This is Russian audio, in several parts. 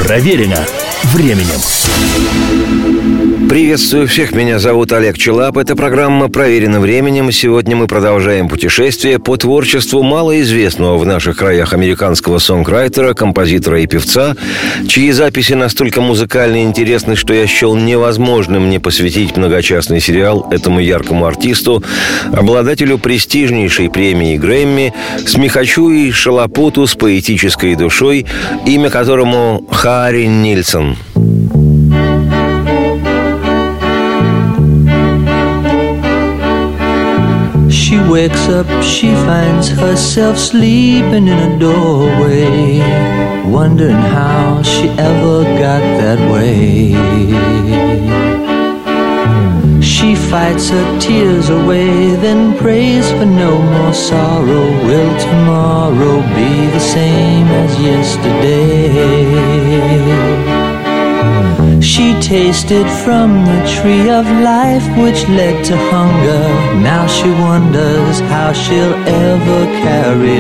Проверено временем. Приветствую всех, меня зовут Олег Челап. Это программа «Проверено временем». Сегодня мы продолжаем путешествие по творчеству малоизвестного в наших краях американского сонграйтера, композитора и певца, чьи записи настолько музыкально интересны, что я счел невозможным не посвятить многочастный сериал этому яркому артисту, обладателю престижнейшей премии Грэмми, смехачу и шалопуту с поэтической душой, имя которому Харри Нильсон. She wakes up, she finds herself sleeping in a doorway, wondering how she ever got that way. She fights her tears away, then prays for no more sorrow. Will tomorrow be the same as yesterday? She tasted from the tree of life which led to hunger. Now she wonders how she'll ever carry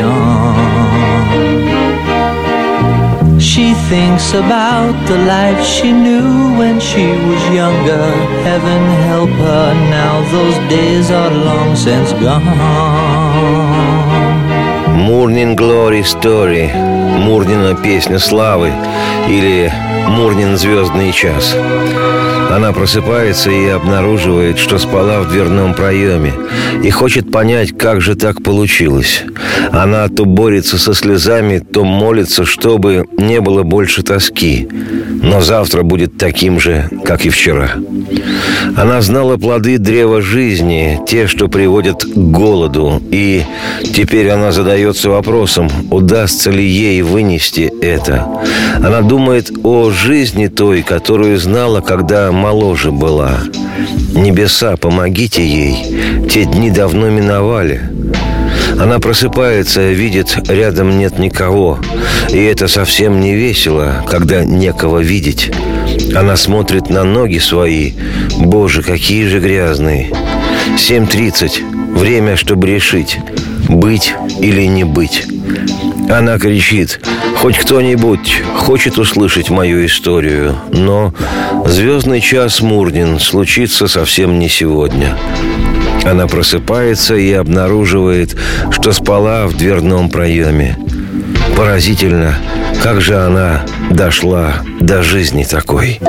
on. She thinks about the life she knew when she was younger. Heaven help her, now those days are long since gone. Morning Glory Story, Мурнина песня славы или Мурнин звездный час. Она просыпается и обнаруживает, что спала в дверном проеме, и хочет понять, как же так получилось. Она то борется со слезами, то молится, чтобы не было больше тоски. Но завтра будет таким же, как и вчера. Она знала плоды древа жизни, те, что приводят к голоду, и теперь она задается вопросом, удастся ли ей вынести это. Она думает о жизни той, которую знала, когда моложе была. Небеса, помогите ей, те дни давно миновали. Она просыпается, видит, рядом нет никого. И это совсем не весело, когда некого видеть. Она смотрит на ноги свои. Боже, какие же грязные. 7:30. Время, чтобы решить, быть или не быть. Она кричит: хоть кто-нибудь хочет услышать мою историю. Но звездный час Мурнин случится совсем не сегодня. Она просыпается и обнаруживает, что спала в дверном проеме. Поразительно, как же она дошла до жизни такой.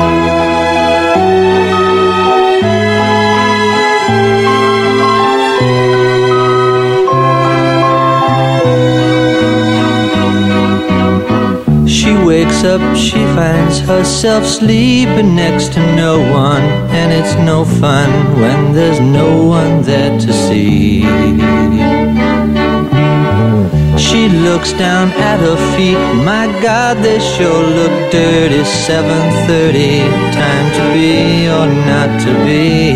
Wakes up, she finds herself sleeping next to no one, and it's no fun when there's no one there to see. She looks down at her feet, my God, they sure look dirty. 7:30, time to be or not to be.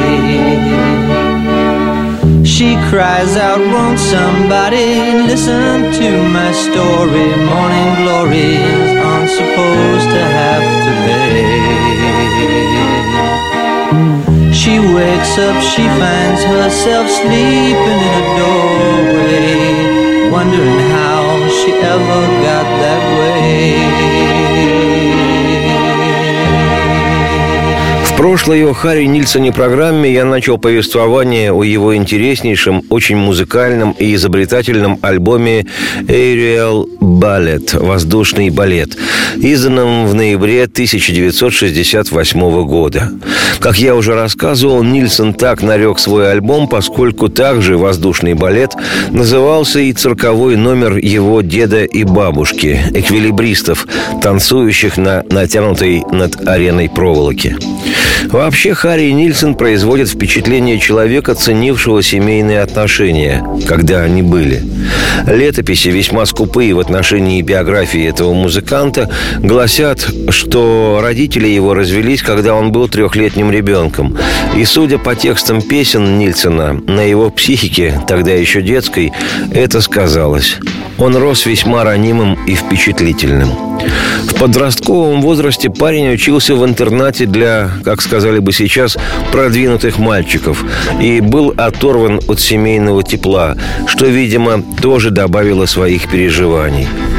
She cries out, won't somebody listen to my story? Morning glories aren't supposed to have to pay. She wakes up, she finds herself sleeping in a doorway, wondering how she ever got that way. В прошлой о Харри Нильсоне программе я начал повествование о его интереснейшем, очень музыкальном и изобретательном альбоме «Aerial Ballet» – «Воздушный балет», изданном в ноябре 1968 года. Как я уже рассказывал, Нильсон так нарек свой альбом, поскольку также «Воздушный балет» назывался и цирковой номер его деда и бабушки, эквилибристов, танцующих на натянутой над ареной проволоке. Вообще, Харри Нильсон производит впечатление человека, ценившего семейные отношения, когда они были. Летописи, весьма скупые в отношении биографии этого музыканта, гласят, что родители его развелись, когда он был 3-летним ребенком. И, судя по текстам песен Нильсона, на его психике, тогда еще детской, это сказалось. Он рос весьма ранимым и впечатлительным. В подростковом возрасте парень учился в интернате для, как сказали бы сейчас, продвинутых мальчиков и был оторван от семейного тепла, что, видимо, тоже добавило своих переживаний.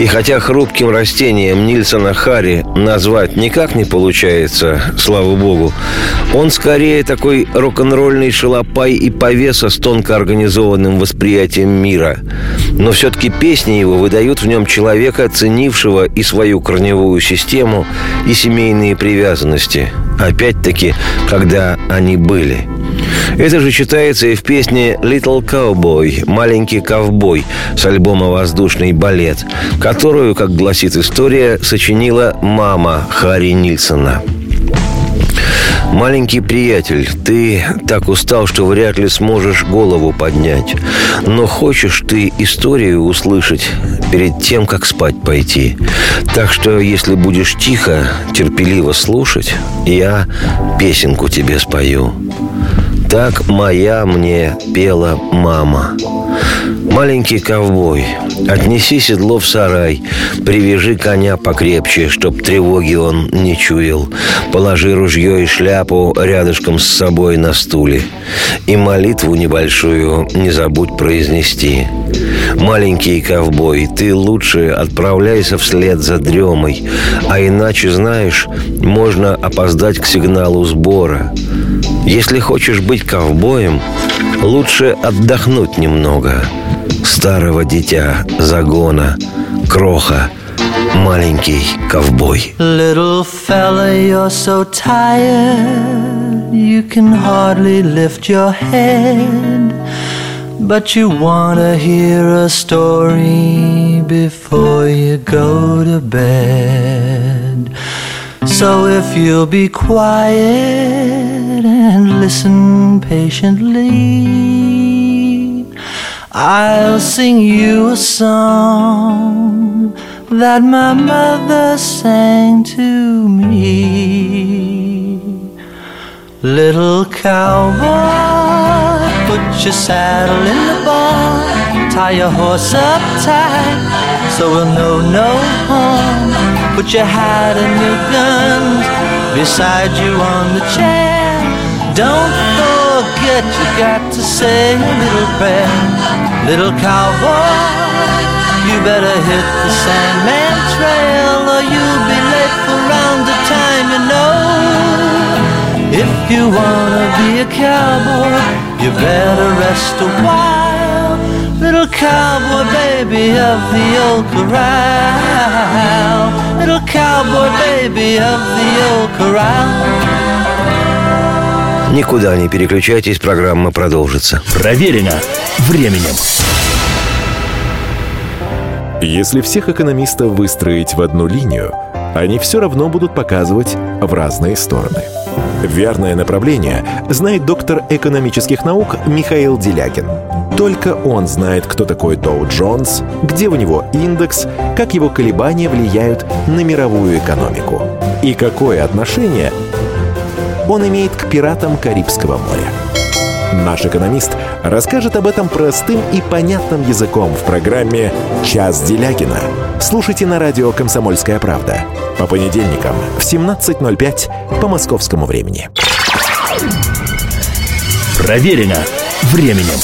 И хотя хрупким растением Нильсона Харри назвать никак не получается, слава богу, он скорее такой рок-н-ролльный шалопай и повеса с тонко организованным восприятием мира. Но все-таки песни его выдают в нем человека, ценившего и свою корневую систему, и семейные привязанности. Опять-таки, когда они были. Это же читается и в песне «Little Cowboy» «Маленький ковбой» с альбома «Воздушный балет», которую, как гласит история, сочинила мама Харри Нильсона. «Маленький приятель, ты так устал, что вряд ли сможешь голову поднять. Но хочешь ты историю услышать перед тем, как спать пойти. Так что, если будешь тихо, терпеливо слушать, я песенку тебе спою». Так моя мне пела мама. «Маленький ковбой, отнеси седло в сарай, привяжи коня покрепче, чтоб тревоги он не чуял. Положи ружье и шляпу рядышком с собой на стуле. И молитву небольшую не забудь произнести. Маленький ковбой, ты лучше отправляйся вслед за дремой, а иначе, знаешь, можно опоздать к сигналу сбора. Если хочешь быть ковбоем, лучше отдохнуть немного. Старого дитя загона, кроха, маленький ковбой». Little fella, you're so tired, you can hardly lift your head, but you want to hear a story before you go to bed. So if you'll be quiet and listen patiently, I'll sing you a song that my mother sang to me. Little cowboy, put your saddle in the barn, tie your horse up tight so we'll know no harm. Put your hat and your guns beside you on the chair. Don't forget you got to say a little prayer. Little cowboy, you better hit the Sandman Trail or you'll be late for round the time, you know. If you wanna be a cowboy, you better rest a while. Little cowboy baby of the old corral. Little cowboy baby of the old corral. Никуда не переключайтесь, программа продолжится. Проверено временем. Если всех экономистов выстроить в одну линию, они все равно будут показывать в разные стороны. Верное направление знает доктор экономических наук Михаил Делягин. Только он знает, кто такой Доу Джонс, где у него индекс, как его колебания влияют на мировую экономику и какое отношение он имеет к пиратам Карибского моря. Наш экономист расскажет об этом простым и понятным языком в программе «Час Делягина». Слушайте на радио «Комсомольская правда» по понедельникам в 17:05 по московскому времени. Проверено временем.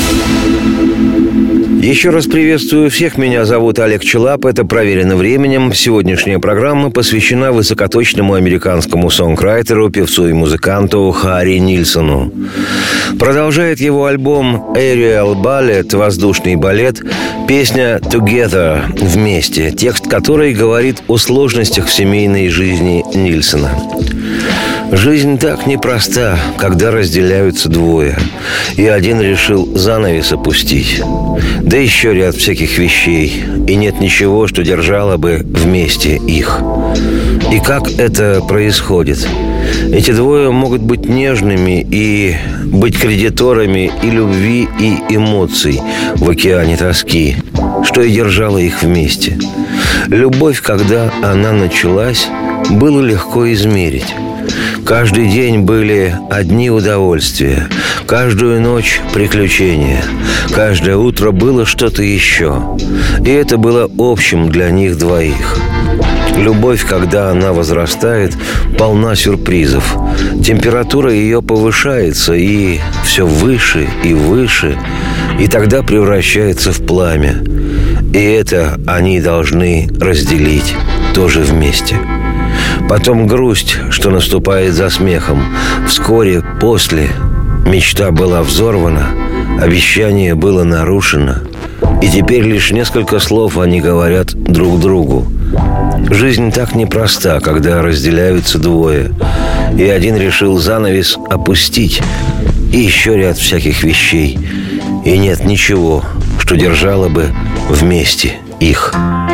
Еще раз приветствую всех. Меня зовут Олег Челап. Это «Проверено временем». Сегодняшняя программа посвящена высокоточному американскому сонграйтеру, певцу и музыканту Харри Нильсону. Продолжает его альбом «Aerial Ballet» «Воздушный балет» песня «Together» «Вместе», текст которой говорит о сложностях в семейной жизни Нильсона. Жизнь так непроста, когда разделяются двое, и один решил занавес опустить. Да еще ряд всяких вещей, и нет ничего, что держало бы вместе их. И как это происходит? Эти двое могут быть нежными и быть кредиторами и любви, и эмоций в океане тоски, что и держало их вместе. Любовь, когда она началась, было легко измерить. Каждый день были одни удовольствия, каждую ночь приключения, каждое утро было что-то еще. И это было общим для них двоих. Любовь, когда она возрастает, полна сюрпризов. Температура ее повышается и все выше и выше, и тогда превращается в пламя. И это они должны разделить тоже вместе. Потом грусть, что наступает за смехом. Вскоре после мечта была взорвана, обещание было нарушено. И теперь лишь несколько слов они говорят друг другу. Жизнь так непроста, когда разделяются двое. И один решил занавес опустить. И еще ряд всяких вещей. И нет ничего, что держало бы вместе их.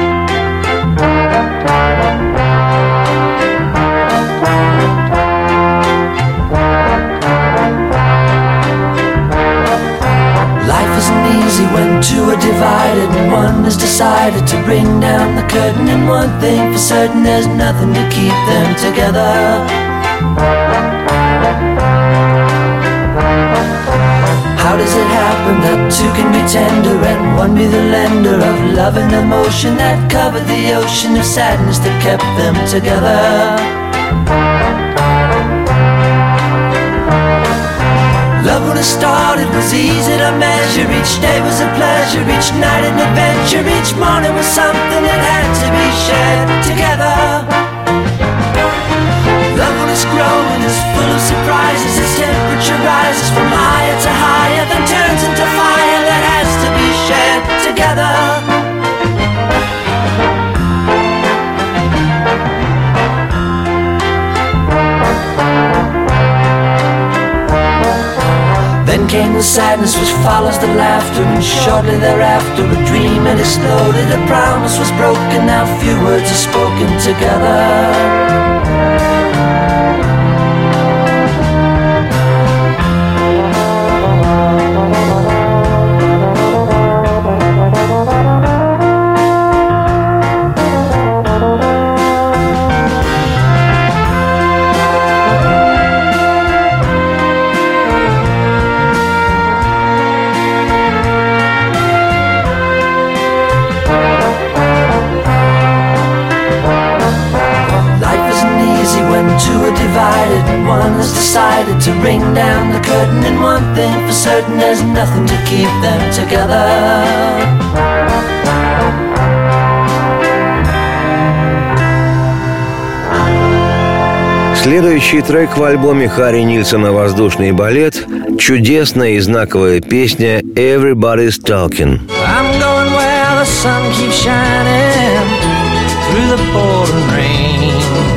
When two are divided and one has decided to bring down the curtain, and one thing for certain, there's nothing to keep them together. How does it happen that two can be tender and one be the lender of love and emotion that covered the ocean of sadness that kept them together? Love when it started was easy to measure. Each day was a pleasure, each night an adventure. Each morning was something that had to be shared together. Love when it's growing is full of surprises. Its temperature rises from higher to higher, then turns into fire that has to be shared together. Then came the sadness which follows the laughter, and shortly thereafter a dream had exploded. A promise was broken, now few words are spoken together. Decided to bring down the curtain, and one thing for certain, there's nothing to keep them together. Следующий трек в альбоме Харри Нильсона «Воздушный балет» – чудесная и знаковая песня «Everybody's Talking». I'm going where the sun keeps shining through the pouring rain.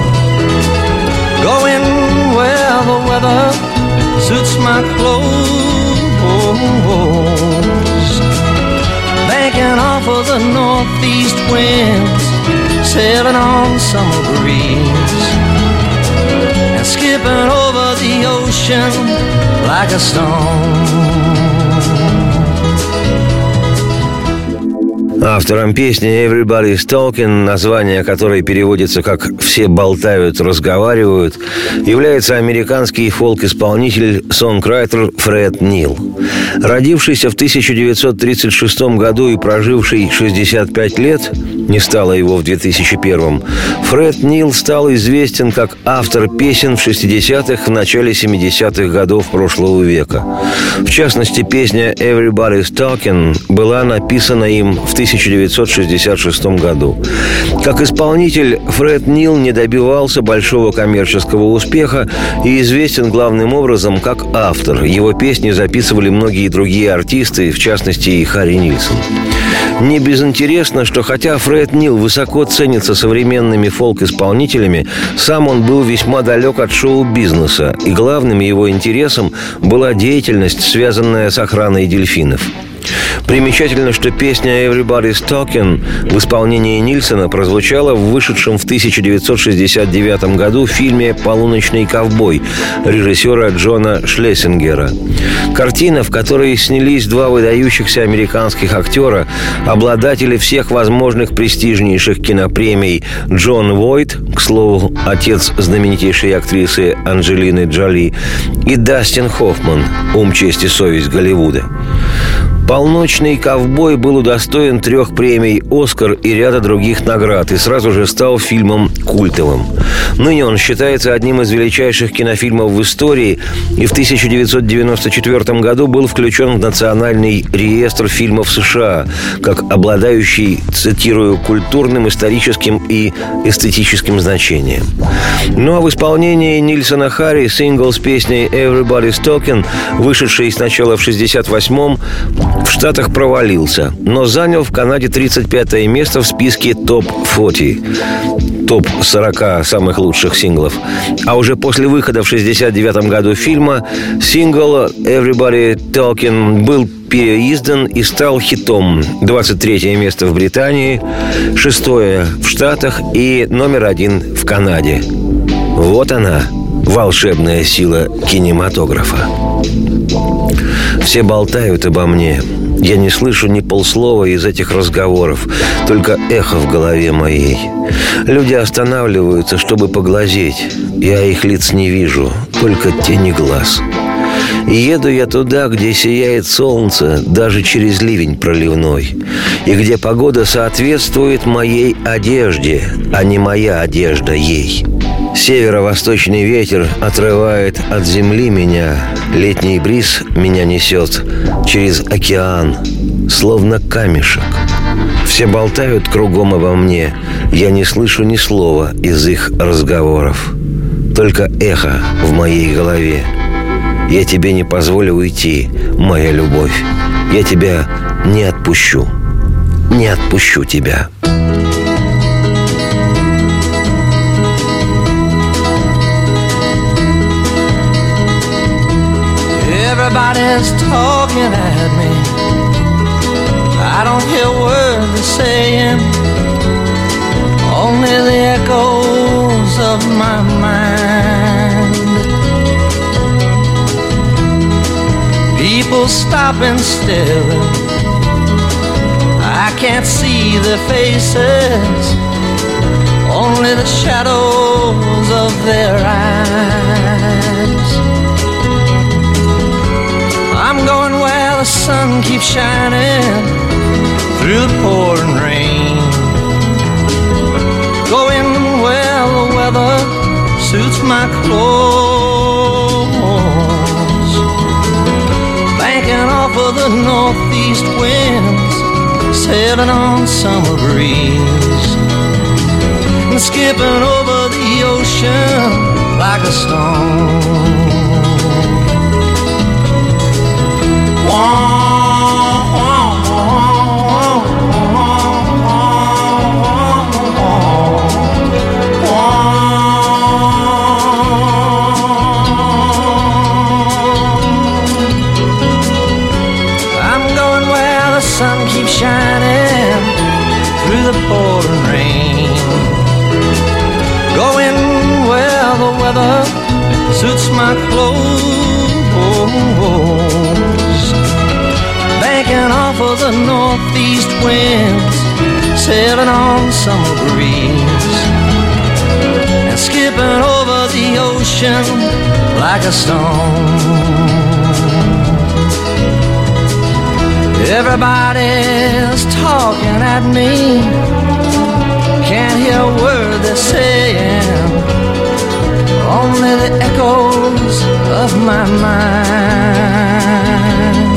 Going where the weather suits my clothes. Banking off of the northeast winds, sailing on the summer breeze, and skipping over the ocean like a stone. Автором песни «Everybody's Talking», название которой переводится как «Все болтают, разговаривают», является американский фолк-исполнитель-сонграйтер Фред Нил. Родившийся в 1936 году и проживший 65 лет, не стало его в 2001, Фред Нил стал известен как автор песен в 60-х, в начале 70-х годов прошлого века. В частности, песня «Everybody's Talking» была написана им в 1966 году. Как исполнитель, Фред Нил не добивался большого коммерческого успеха и известен главным образом как автор. Его песни записывали многие другие артисты, в частности и Харри Нильсон. Не безинтересно, что хотя Фред Нил высоко ценится современными фолк-исполнителями, сам он был весьма далек от шоу-бизнеса, и главным его интересом была деятельность, связанная с охраной дельфинов. Примечательно, что песня «Everybody's Talking» в исполнении Нильсона прозвучала в вышедшем в 1969 году фильме «Полуночный ковбой» режиссера Джона Шлессингера. Картина, в которой снялись два выдающихся американских актера, обладатели всех возможных престижнейших кинопремий Джон Войт, к слову, отец знаменитейшей актрисы Анджелины Джоли, и Дастин Хоффман, ум, честь и совесть Голливуда. По «Полночный ковбой» был удостоен 3 премий «Оскар» и ряда других наград и сразу же стал фильмом культовым. Ныне он считается одним из величайших кинофильмов в истории и в 1994 году был включен в Национальный реестр фильмов США как обладающий, цитирую, культурным, историческим и эстетическим значением. Ну а в исполнении Нильсона Харри сингл с песней «Everybody's Talking», вышедший сначала в 1968-м, в Штатах провалился, но занял в Канаде 35-е место в списке топ-40, топ-40 самых лучших синглов. А уже после выхода в 1969 году фильма сингл «Everybody Talking» был переиздан и стал хитом. 23-е место в Британии, 6-е в Штатах и номер 1 в Канаде. Вот она, волшебная сила кинематографа. Все болтают обо мне. Я не слышу ни полслова из этих разговоров, только эхо в голове моей. Люди останавливаются, чтобы поглазеть. Я их лиц не вижу, только тени глаз. И еду я туда, где сияет солнце, даже через ливень проливной, и где погода соответствует моей одежде, а не моя одежда ей. Северо-восточный ветер отрывает от земли меня, летний бриз меня несет через океан, словно камешек. Все болтают кругом обо мне, я не слышу ни слова из их разговоров, только эхо в моей голове. Я тебе не позволю уйти, моя любовь. Я тебя не отпущу. Не отпущу тебя. Everybody's talking at me. I don't hear words they're saying, only the echoes of my mind. People stop and stare. I can't see their faces, only the shadows of their eyes. I'm going where the sun keeps shining through the pouring rain, going where the weather suits my clothes, banking off of the northeast winds, sailing on summer breeze, and skipping over the ocean like a stone. Shining through the pouring rain, going where the weather suits my clothes, banking off of the northeast winds, sailing on summer breeze, and skipping over the ocean like a stone. Everybody's talking at me, can't hear a word they're saying, only the echoes of my mind.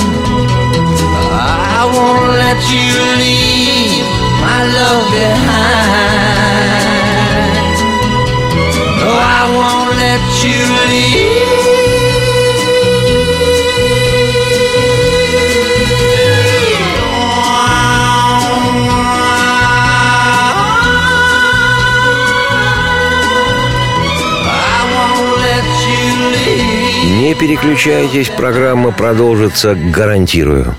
I won't let you leave my love behind. No, I won't let you leave. Не переключайтесь, программа продолжится, гарантирую.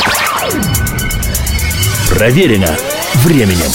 Проверено временем.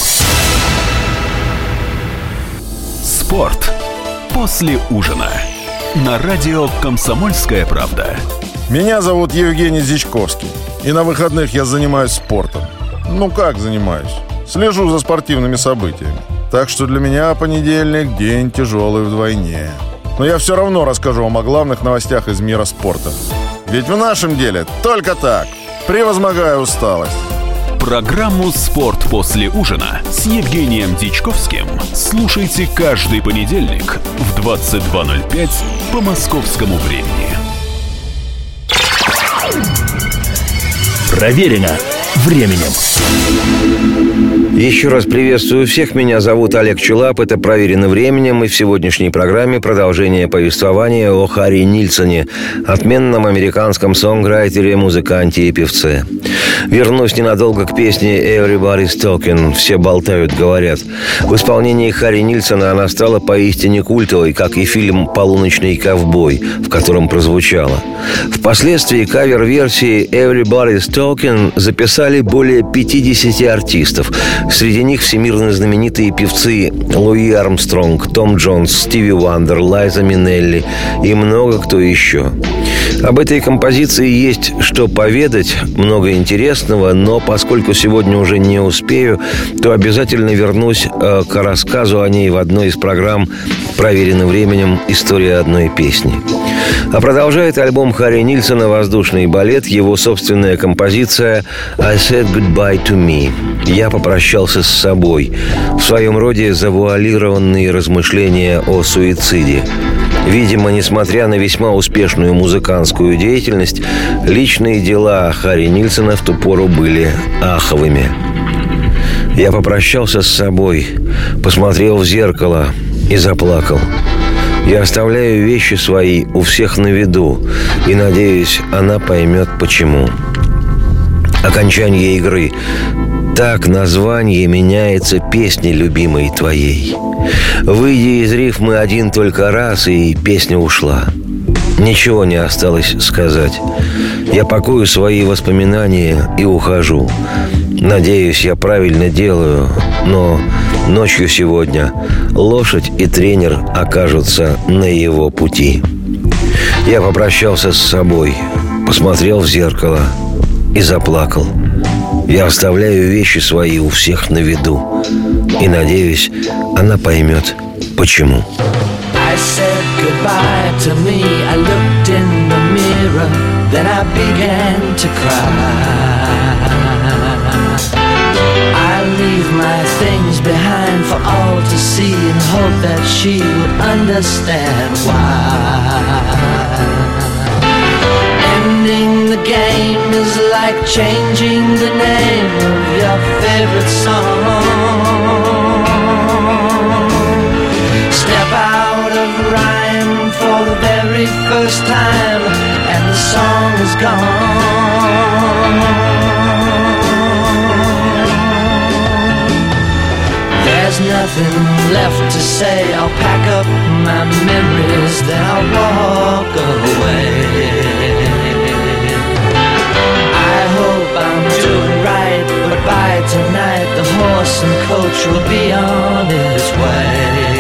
Спорт после ужина. На радио «Комсомольская правда». Меня зовут Евгений Зичковский. И на выходных я занимаюсь спортом. Ну как занимаюсь? Слежу за спортивными событиями. Так что для меня понедельник – день тяжелый вдвойне. Но я все равно расскажу вам о главных новостях из мира спорта. Ведь в нашем деле только так. превозмогая усталость. Программу «Спорт после ужина» с Евгением Дичковским слушайте каждый понедельник в 22:05 по московскому времени. Проверено временем. Еще раз приветствую всех. Меня зовут Олег Челап. Это «Проверено временем». И в сегодняшней программе продолжение повествования о Харри Нильсоне, отменном американском сонграйтере, музыканте и певце. Вернусь ненадолго к песне «Everybody's Talking» «Все болтают, говорят». В исполнении Харри Нильсона она стала поистине культовой, как и фильм «Полуночный ковбой», в котором прозвучала. Впоследствии кавер-версии «Everybody's Talking» записали более 50 артистов. Среди них всемирно знаменитые певцы Луи Армстронг, Том Джонс, Стиви Вандер, Лайза Минелли и много кто еще. Об этой композиции есть что поведать, много интересного, но поскольку сегодня уже не успею, то обязательно вернусь к рассказу о ней в одной из программ «Проверено временем. История одной песни». А продолжает альбом Харри Нильсона «Воздушный балет» его собственная композиция «I said goodbye to me». «Я попрощался с собой». В своем роде завуалированные размышления о суициде. Видимо, несмотря на весьма успешную музыкантскую деятельность, личные дела Харри Нильсона в ту пору были аховыми. «Я попрощался с собой, посмотрел в зеркало и заплакал. Я оставляю вещи свои у всех на виду, и, надеюсь, она поймет, почему». Окончание игры. Так название меняется песни любимой твоей. Выйди из рифмы один только раз, и песня ушла. Ничего не осталось сказать. Я пакую свои воспоминания и ухожу. Надеюсь, я правильно делаю, но ночью сегодня лошадь и тренер окажутся на его пути. Я попрощался с собой, посмотрел в зеркало и заплакал. Я оставляю вещи свои у всех на виду. И, надеюсь, она поймет, почему. I said goodbye to me. I looked in the mirror, then I began to cry. I leave my things behind for all to see and hope that she will understand why. Ending the game is like changing the name of your favorite song. Step out of rhyme for the very first time, and the song is gone. There's nothing left to say. I'll pack up my memories, then I'll walk away. I'm doing right, but by tonight the horse and coach will be on its way.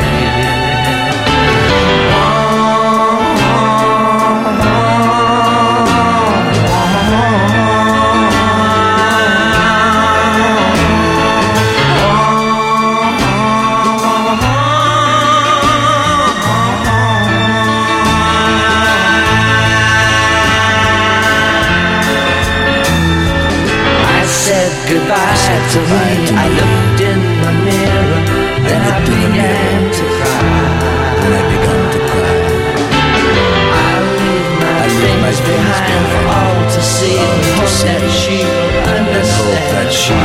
Goodbye to me. I looked in the mirror, then I began to cry. I leave my things behind for all to see, and hope that she will understand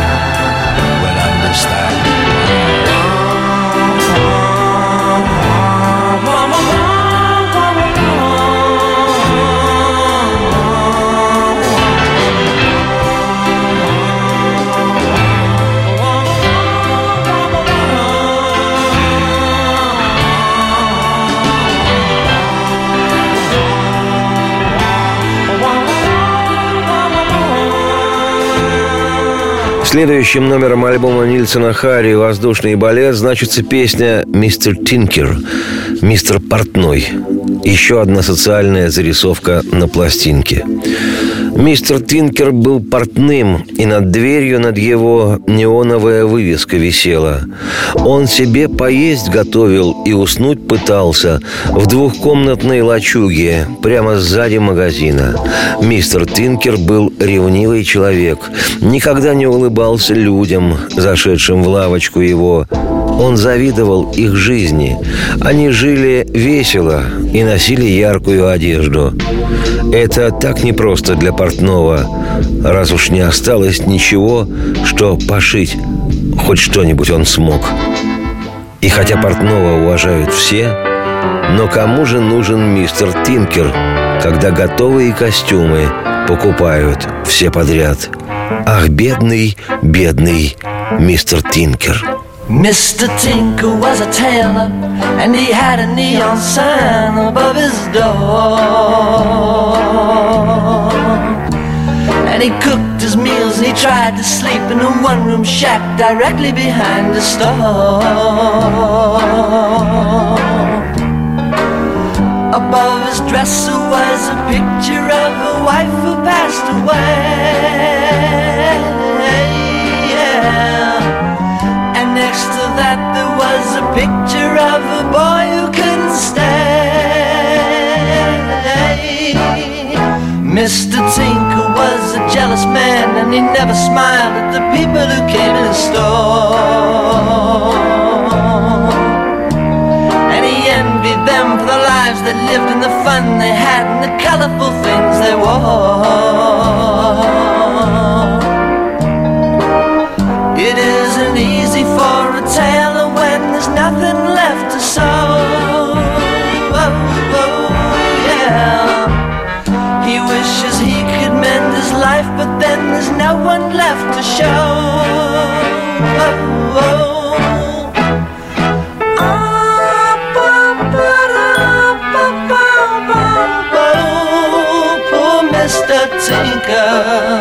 Следующим номером альбома Нильсона Харри «Воздушный балет» значится песня «Мистер Тинкер», «Мистер Портной». Еще одна социальная зарисовка на пластинке. Мистер Тинкер был портным, и над дверью над его неоновая вывеска висела. Он себе поесть готовил и уснуть пытался в двухкомнатной лачуге прямо сзади магазина. Мистер Тинкер был ревнивый человек, никогда не улыбался людям, зашедшим в лавочку его. Он завидовал их жизни. Они жили весело и носили яркую одежду. Это так непросто для портного, раз уж не осталось ничего, что пошить хоть что-нибудь он смог. И хотя портного уважают все, но кому же нужен мистер Тинкер, когда готовые костюмы покупают все подряд? Ах, бедный, бедный мистер Тинкер. Mr. Tinker was a tailor, and he had a neon sign above his door. And he cooked his meals and he tried to sleep in a one-room shack directly behind the store. Above his dresser was a picture of a wife who passed away. Next to that there was a picture of a boy who couldn't stay. Mr. Tinker was a jealous man, and he never smiled at the people who came in his store. And he envied them for the lives they lived and the fun they had and the colorful things they wore. It isn't easy for a tailor when there's nothing left to sew. Yeah. He wishes he could mend his life, but then there's no one left to show. Poor Mr. Tinker.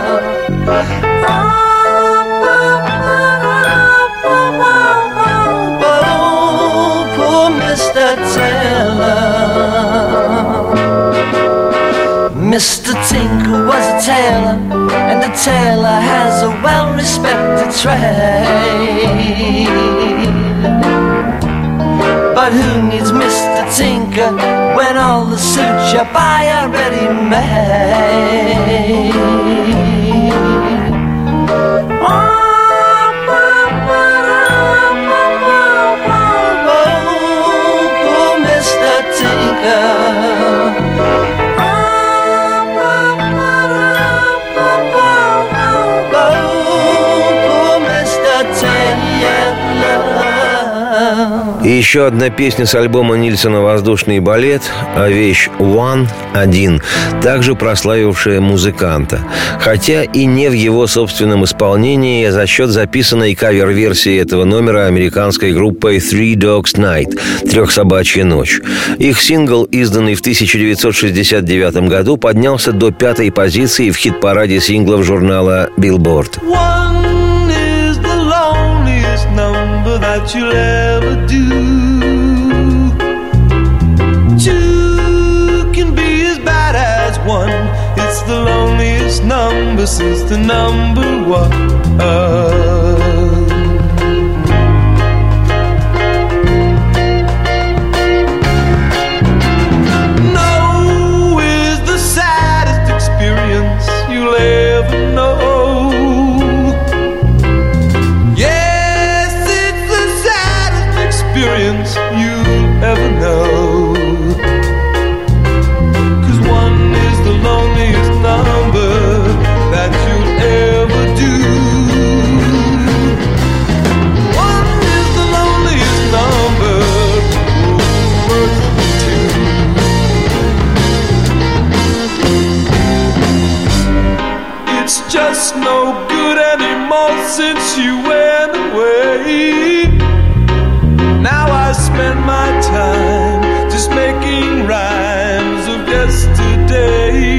Mr. Tinker was a tailor, and a tailor has a well-respected trade. But who needs Mr. Tinker when all the suits you buy are ready-made? Poor Mr. Tinker. И еще одна песня с альбома Нильсона «Воздушный балет», а вещь «One» — «Один», также прославившая музыканта. Хотя и не в его собственном исполнении, а за счет записанной кавер-версии этого номера американской группой Three Dogs Night — «Трехсобачья ночь». Их сингл, изданный в 1969 году, поднялся до 5-й позиции в хит-параде синглов журнала Billboard. That you'll ever do. Two can be as bad as one. It's the loneliest number since the number one. No is the saddest experience you'll ever know. You'll ever know. 'Cause one is the loneliest number that you'll ever do. One is the loneliest number worth two. It's just no good anymore since you went away. Now I spend my time just making rhymes of yesterday.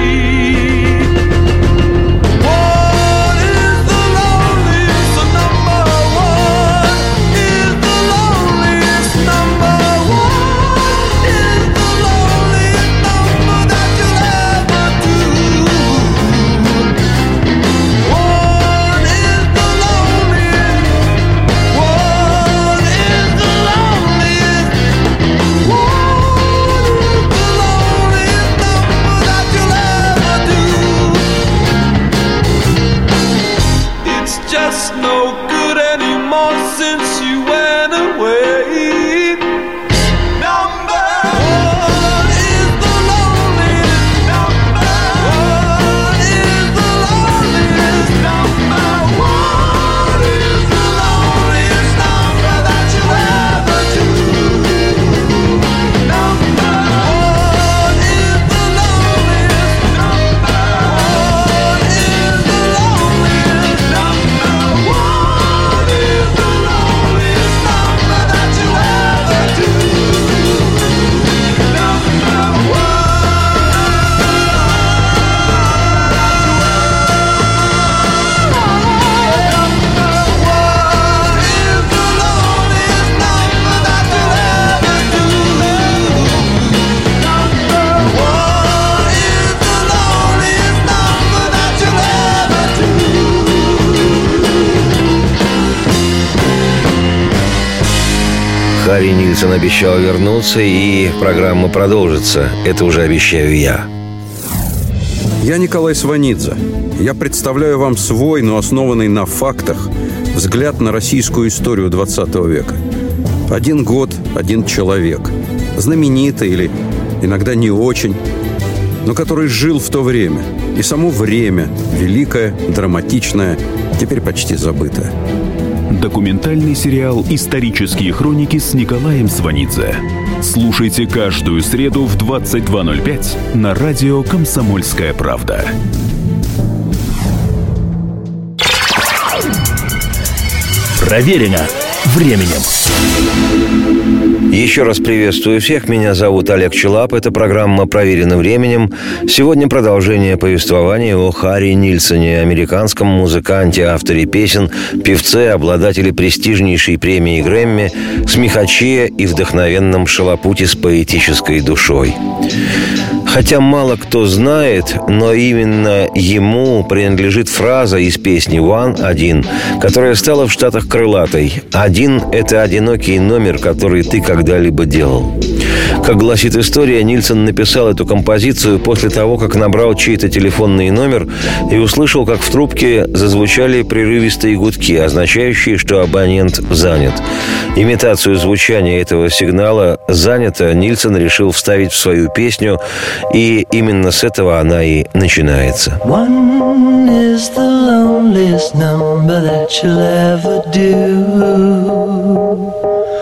One is the loneliest number. One is the loneliest number. One is the loneliest number that you'll ever do. she went away. Number one is the loneliest. Number one is the loneliest. Number one is the loneliest number that you ever do. Number one is the loneliest. Number one is the loneliest. Number one is the loneliest number that you ever do. Number one. Харри Нильсон обещал вернуться, и программа продолжится. Это уже обещаю я. Я Николай Сванидзе. Я представляю вам свой, но основанный на фактах, взгляд на российскую историю 20 века. 1 год, 1 человек. Знаменитый или иногда не очень, но который жил в то время. И само время великое, драматичное, теперь почти забытое. Документальный сериал «Исторические хроники» с Николаем Сванидзе. Слушайте каждую среду в 22:05 на радио «Комсомольская правда». Проверено временем. Еще раз приветствую всех. Меня зовут Олег Челап. Это программа «Проверено временем». Сегодня продолжение повествования о Харри Нильсоне, американском музыканте, авторе песен, певце, обладателе престижнейшей премии Грэмми, смехаче и вдохновенном шалопуте с поэтической душой. Хотя мало кто знает, но именно ему принадлежит фраза из песни «One» – «Один», которая стала в Штатах крылатой. «Один» – это одинокий номер, который ты когда-либо делал. Как гласит история, Нильсон написал эту композицию после того, как набрал чей-то телефонный номер и услышал, как в трубке зазвучали прерывистые гудки, означающие, что абонент занят. Имитацию звучания этого сигнала «занято» Нильсон решил вставить в свою песню, и именно с этого она и начинается. One is the loneliest number that you'll ever do.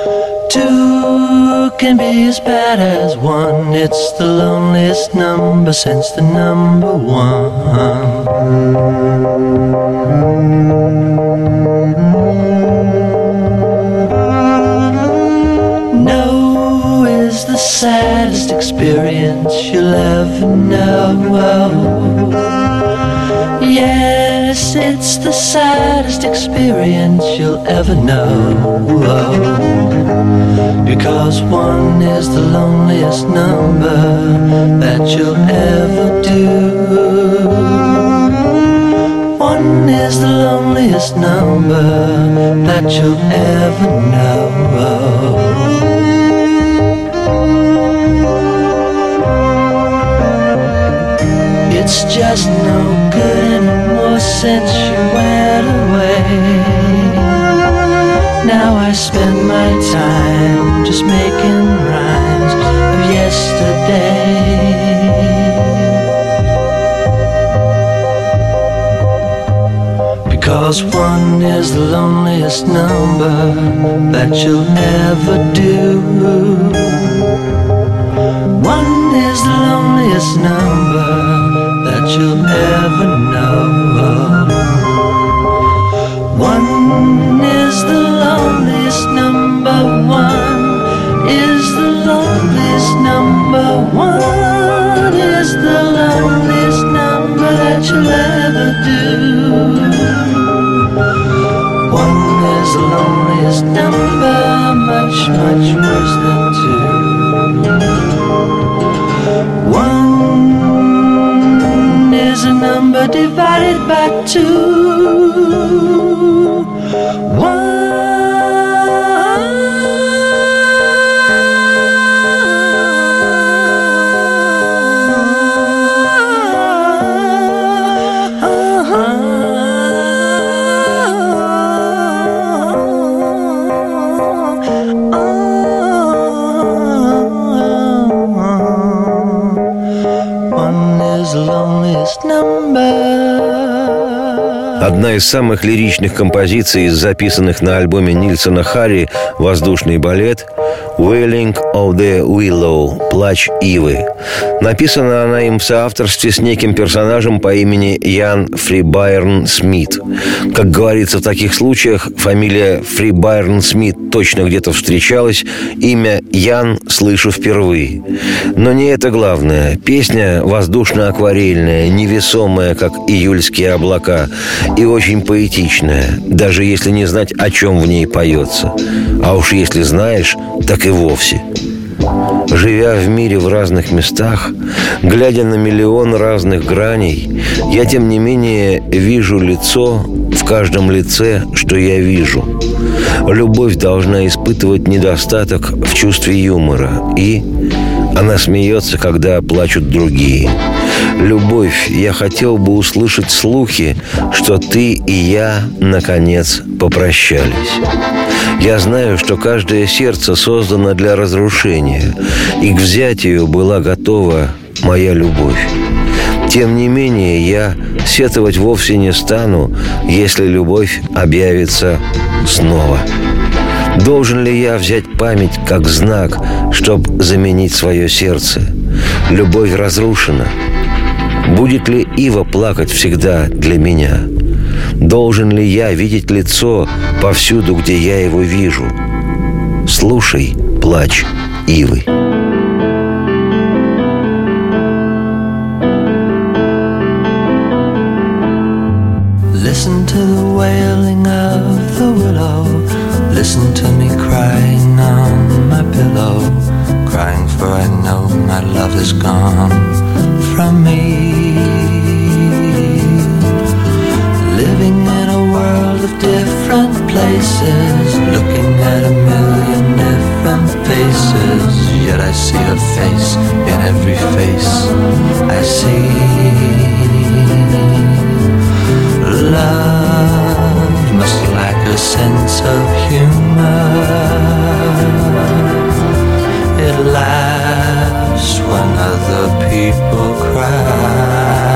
Two can be as bad as one. It's the loneliest number since the number one. No is the saddest experience you'll ever know. Yes, it's the saddest experience you'll ever know. Because one is the loneliest number that you'll ever do. One is the loneliest number that you'll ever know. It's just no good anymore since you went away. Now I spend my time just making rhymes of yesterday. Because one is the loneliest number that you'll ever do. One is the loneliest number that you'll ever know. One is the loneliest number. One is the loneliest number. One is the loneliest number that you'll ever do. One is the loneliest number, much, much worse than two. One is a number divided by two. One. Одна из самых лиричных композиций, записанных на альбоме Нильсона Харри «Воздушный балет» «Wailing of the Willow» «Плач ивы». Написана она им в соавторстве с неким персонажем по имени Ян Фрибайрн Смит. Как говорится в таких случаях, фамилия Фрибайрн Смит точно где-то встречалась, имя Ян слышу впервые. Но не это главное. Песня воздушно-акварельная, невесомая, как июльские облака, и очень поэтичная, даже если не знать, о чем в ней поется. А уж если знаешь, так и вовсе. Живя в мире в разных местах, глядя на миллион разных граней, я, тем не менее, вижу лицо в каждом лице, что я вижу. Любовь должна испытывать недостаток в чувстве юмора, и она смеется, когда плачут другие. Любовь, я хотел бы услышать слухи, что ты и я, наконец, попрощались. Я знаю, что каждое сердце создано для разрушения, и к взятию была готова моя любовь. Тем не менее, я сетовать вовсе не стану, если любовь объявится снова. Должен ли я взять память как знак, чтобы заменить свое сердце? Любовь разрушена. Будет ли ива плакать всегда для меня? Должен ли я видеть лицо повсюду, где я его вижу? Слушай плач ивы. Listen to the wailing of the willow. Listen to me crying on my pillow. Crying for I know my love is gone from me. Living in a world of different places, looking at a million different faces, yet I see her face in every face I see. Love must lack a sense of humor. It laughs when other people cry.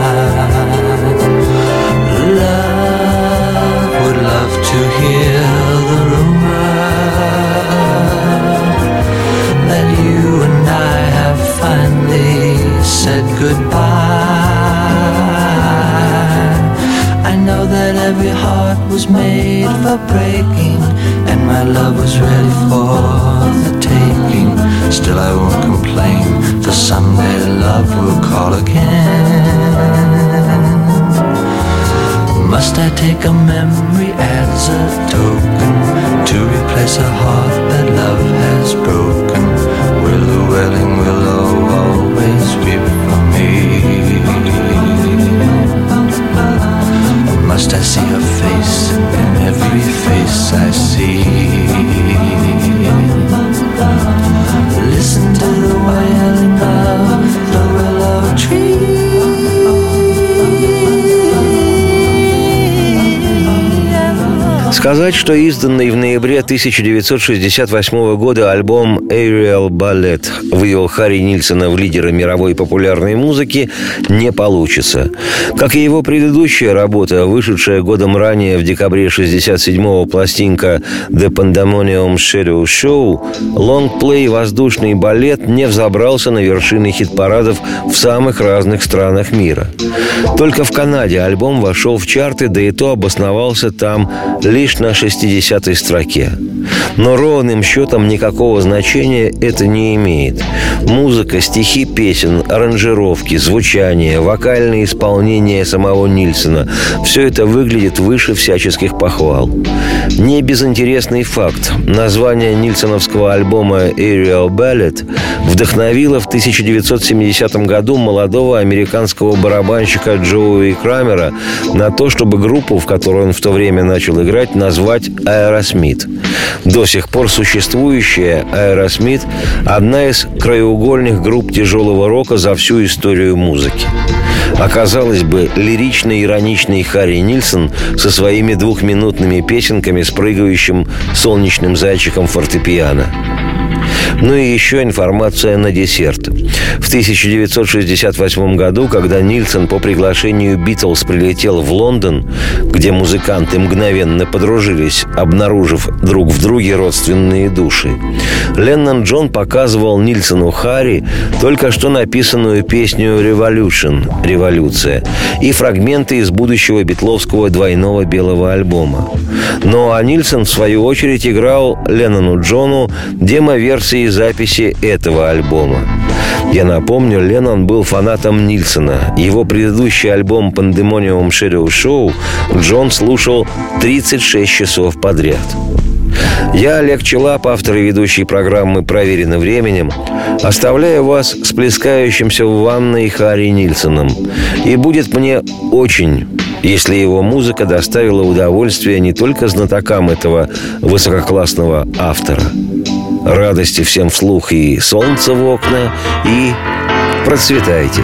Love would love to hear the rumor that you and I have finally said goodbye. I know that every heart was made for breaking, and my love was ready for the taking. Still I won't complain, for someday love will call again. Must I take a memory as a token to replace a heart that love has broken? Will the wailing willow always weep for me? Must I see her face in every face I see? Listen to the wailing of the willow tree. Сказать, что изданный в ноябре 1968 года альбом «Aerial Ballet» вывел Харри Нильсона в лидеры мировой популярной музыки, не получится. Как и его предыдущая работа, вышедшая годом ранее в декабре 1967-го пластинка «The Pandemonium Shadow Show», лонгплей «Воздушный балет» не взобрался на вершины хит-парадов в самых разных странах мира. Только в Канаде альбом вошел в чарты, да и то обосновался там лишь на 60-й строке. Но ровным счетом никакого значения это не имеет. Музыка, стихи песен, аранжировки, звучание, вокальное исполнение самого Нильсона – все это выглядит выше всяческих похвал. Не безинтересный факт. Название нильсоновского альбома «Aerial Ballet» вдохновило в 1970 году молодого американского барабанщика Джоуи Крамера на то, чтобы группу, в которой он в то время начал играть, назвать «Аэросмит». До сих пор существующая «Аэросмит» – одна из краеугольных групп тяжелого рока за всю историю музыки. Оказалось бы, лирично-ироничный Харри Нильсон со своими двухминутными песенками с прыгающим солнечным зайчиком фортепиано. Ну и еще информация на десерт. В 1968 году, когда Нильсон по приглашению Битлз прилетел в Лондон, где музыканты мгновенно подружились, обнаружив друг в друге родственные души, Леннон Джон показывал Нильсону Харри только что написанную песню «Revolution» — «Революция» и фрагменты из будущего битловского двойного белого альбома. Ну а Нильсон, в свою очередь, играл Леннону Джону демо-версии записи этого альбома. Я напомню, Леннон был фанатом Нильсона. Его предыдущий альбом «Pandemonium Shadow Show» Джон слушал 36 часов подряд. Я, Олег Челап, автор и ведущий программы «Проверено временем», оставляю вас с плескающимся в ванной Харри Нильсоном. И будет мне очень, если его музыка доставила удовольствие не только знатокам этого высококлассного автора. Радости всем вслух и солнца в окна, и процветайте.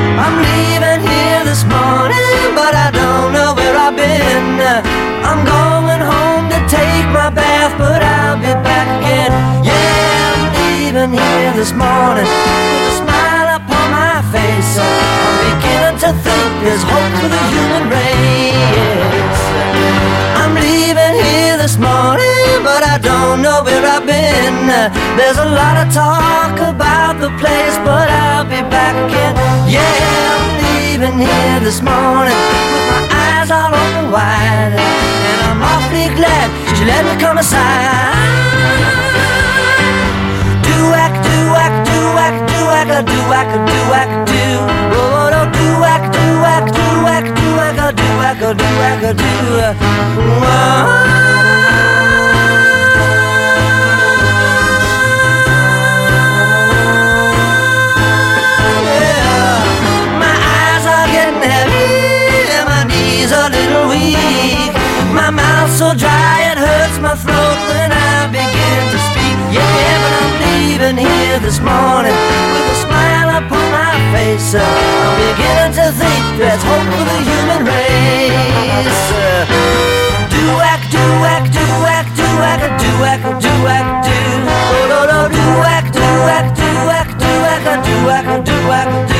I'm going home to take my bath, but I'll be back again. Yeah, I'm leaving here this morning with a smile upon my face. I'm beginning to think there's hope for the human race. I'm leaving here this morning, but I don't know where I've been. There's a lot of talk about the place, but I'll be back again. Yeah, I'm leaving here this morning with my eyes all open wide. I'm awfully glad she let me come aside. Do-ack, do-ack, do-ack, do-ack, do-ack, do-ack, do. Oh, no, do-ack, do-ack, do-ack, do-ack, do-ack, do-ack, do. Yeah, my eyes are getting heavy and my knees are a little weak. My mouth's so dry it hurts my throat when I begin to speak. Yeah, but I'm leaving here this morning with a smile upon my face. I'm beginning to think there's hope for the human race. Do-ack, do-ack, do-ack, do-ack, do-ack, do-ack, do. Oh, no, no, do-ack, do-ack, do-ack, do-ack, do-ack, do-ack, do.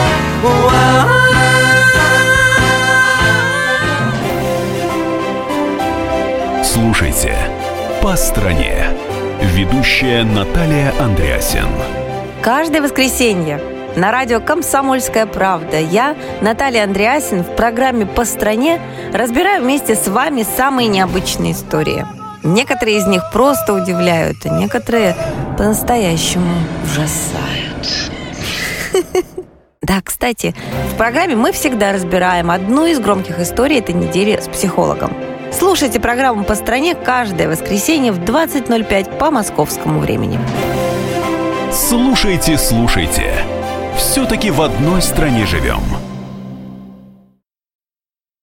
Слушайте «По стране». Ведущая Наталья Андреасен. Каждое воскресенье на радио «Комсомольская правда» я, Наталья Андреасен, в программе «По стране» разбираю вместе с вами самые необычные истории. Некоторые из них просто удивляют, а некоторые по-настоящему ужасают. Да, кстати, в программе мы всегда разбираем одну из громких историй этой недели с психологом. Слушайте программу «По стране» каждое воскресенье в 20:05 по московскому времени. Слушайте, слушайте. Все-таки в одной стране живем.